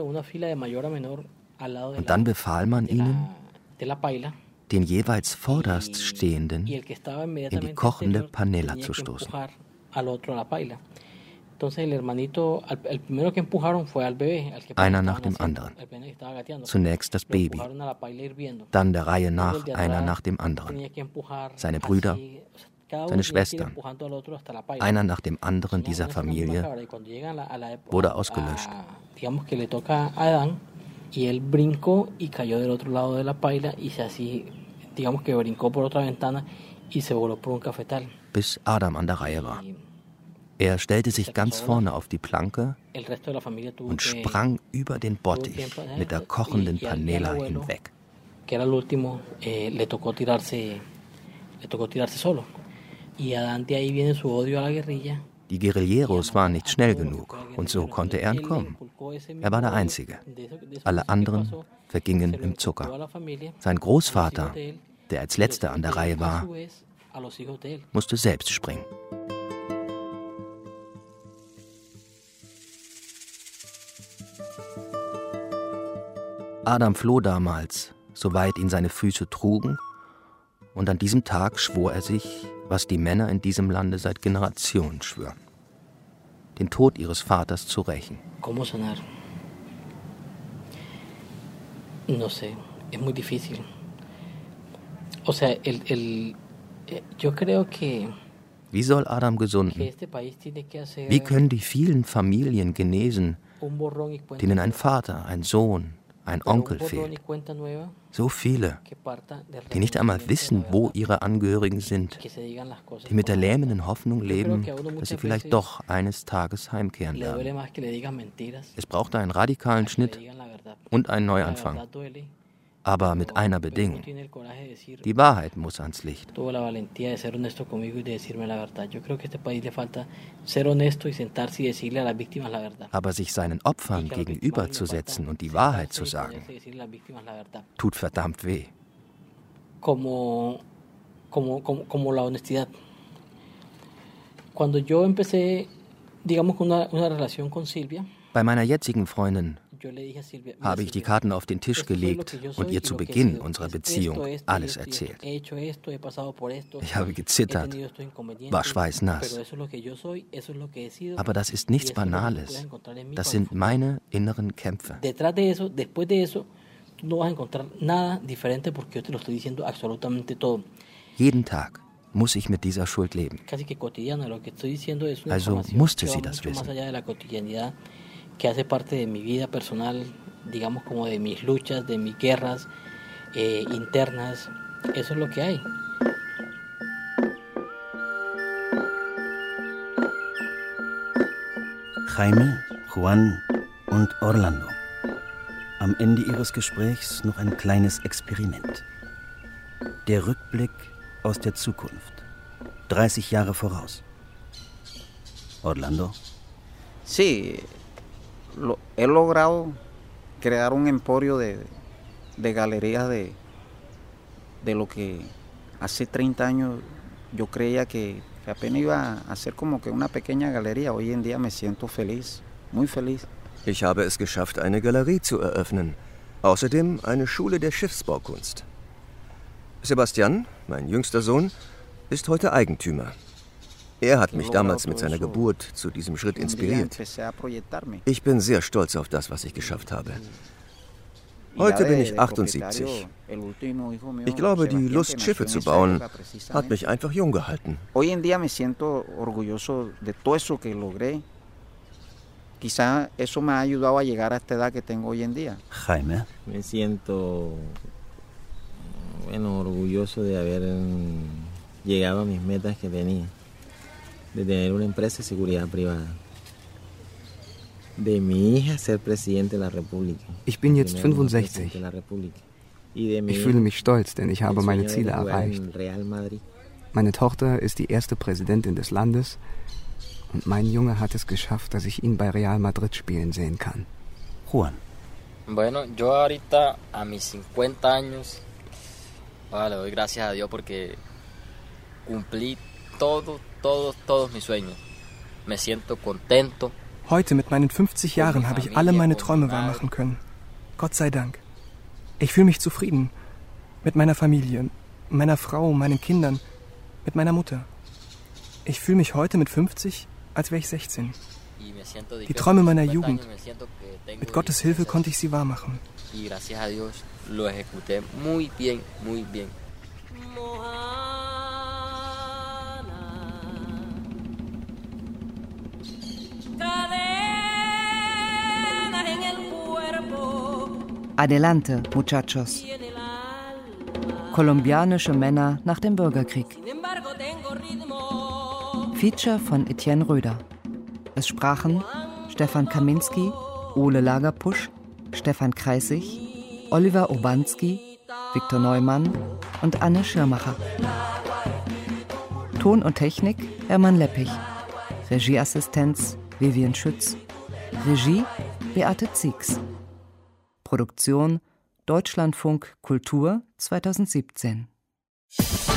Und dann befahl man ihnen, den jeweils vorderst Stehenden in die kochende Panela zu stoßen. Einer nach dem anderen. Zunächst das Baby, dann der Reihe nach einer nach dem anderen. Seine Brüder, seine Schwestern. Einer nach dem anderen dieser Familie wurde ausgelöscht. Bis Adam an der Reihe war. Er stellte sich ganz vorne auf die Planke und sprang über den Bottich mit der kochenden Panela hinweg. Die Guerilleros waren nicht schnell genug und so konnte er entkommen. Er war der Einzige. Alle anderen vergingen im Zucker. Sein Großvater, der als letzter an der Reihe war, musste selbst springen. Adam floh damals, soweit ihn seine Füße trugen, und an diesem Tag schwor er sich, was die Männer in diesem Lande seit Generationen schwören: den Tod ihres Vaters zu rächen. ¿Cómo sanar? No sé, es muy difícil. O sea, yo creo que Wie soll Adam gesunden? Wie können die vielen Familien genesen, denen ein Vater, ein Sohn, ein Onkel fehlt? So viele, die nicht einmal wissen, wo ihre Angehörigen sind, die mit der lähmenden Hoffnung leben, dass sie vielleicht doch eines Tages heimkehren werden. Es brauchte einen radikalen Schnitt und einen Neuanfang. Aber mit einer Bedingung. Die Wahrheit muss ans Licht. Aber sich seinen Opfern gegenüberzusetzen und die Wahrheit zu sagen, tut verdammt weh. Como la honestidad. Cuando yo empecé, digamos, una relación con Silvia. Bei meiner jetzigen Freundin habe ich die Karten auf den Tisch gelegt und ihr zu Beginn unserer Beziehung alles erzählt. Ich habe gezittert, war schweißnass. Aber das ist nichts Banales. Das sind meine inneren Kämpfe. Jeden Tag muss ich mit dieser Schuld leben. Also musste sie das wissen. Que hace parte de mi vida personal, digamos como de mis luchas, de mis guerras internas. Eso es lo que hay. Jaime, Juan und Orlando. Am Ende ihres Gesprächs noch ein kleines Experiment. Der Rückblick aus der Zukunft. 30 Jahre voraus. Orlando? Sí. He logrado crear un emporio de galerías de lo que hace 30 años yo creía que apenas iba a ser como que una pequeña galería. Hoy en día me siento feliz, muy feliz. Ich habe es geschafft, eine Galerie zu eröffnen. Außerdem eine Schule der Schiffsbaukunst. Sebastian, mein jüngster Sohn, ist heute Eigentümer. Er hat mich damals mit seiner Geburt zu diesem Schritt inspiriert. Ich bin sehr stolz auf das, was ich geschafft habe. Heute bin ich 78. Ich glaube, die Lust, Schiffe zu bauen, hat mich einfach jung gehalten. Hoy en día me siento orgulloso de todo eso que logré. Quizá eso me ha ayudado a llegar a esta edad que tengo hoy en día. Jaime. Me siento, orgulloso de haber llegado a mis metas que tenía. De tener una empresa de seguridad privada. De mi hija ser presidente de la República. Ich bin jetzt 65. Ich fühle mich stolz, denn ich habe meine Ziele erreicht. Meine Tochter ist die erste Präsidentin des Landes und mein Junge hat es geschafft, dass ich ihn bei Real Madrid spielen sehen kann. Juan. Bueno, yo ahorita a mis 50 años, le doy gracias a Dios porque cumplí todos mis sueños. Me siento contento. Heute mit meinen 50 Jahren habe ich alle meine Träume wahrmachen können. Gott sei Dank. Ich fühle mich zufrieden. Mit meiner Familie, meiner Frau, meinen Kindern, mit meiner Mutter. Ich fühle mich heute mit 50, als wäre ich 16. Die Träume meiner Jugend. Mit Gottes Hilfe konnte ich sie wahrmachen. Adelante, Muchachos. Kolumbianische Männer nach dem Bürgerkrieg. Feature von Etienne Röder. Es sprachen Stefan Kaminski, Ole Lagerpusch, Stefan Kreisig, Oliver Urbanski, Viktor Neumann und Anne Schirmacher. Ton und Technik Hermann Leppich. Regieassistenz Vivian Schütz. Regie Beate Ziegs. Produktion Deutschlandfunk Kultur 2017.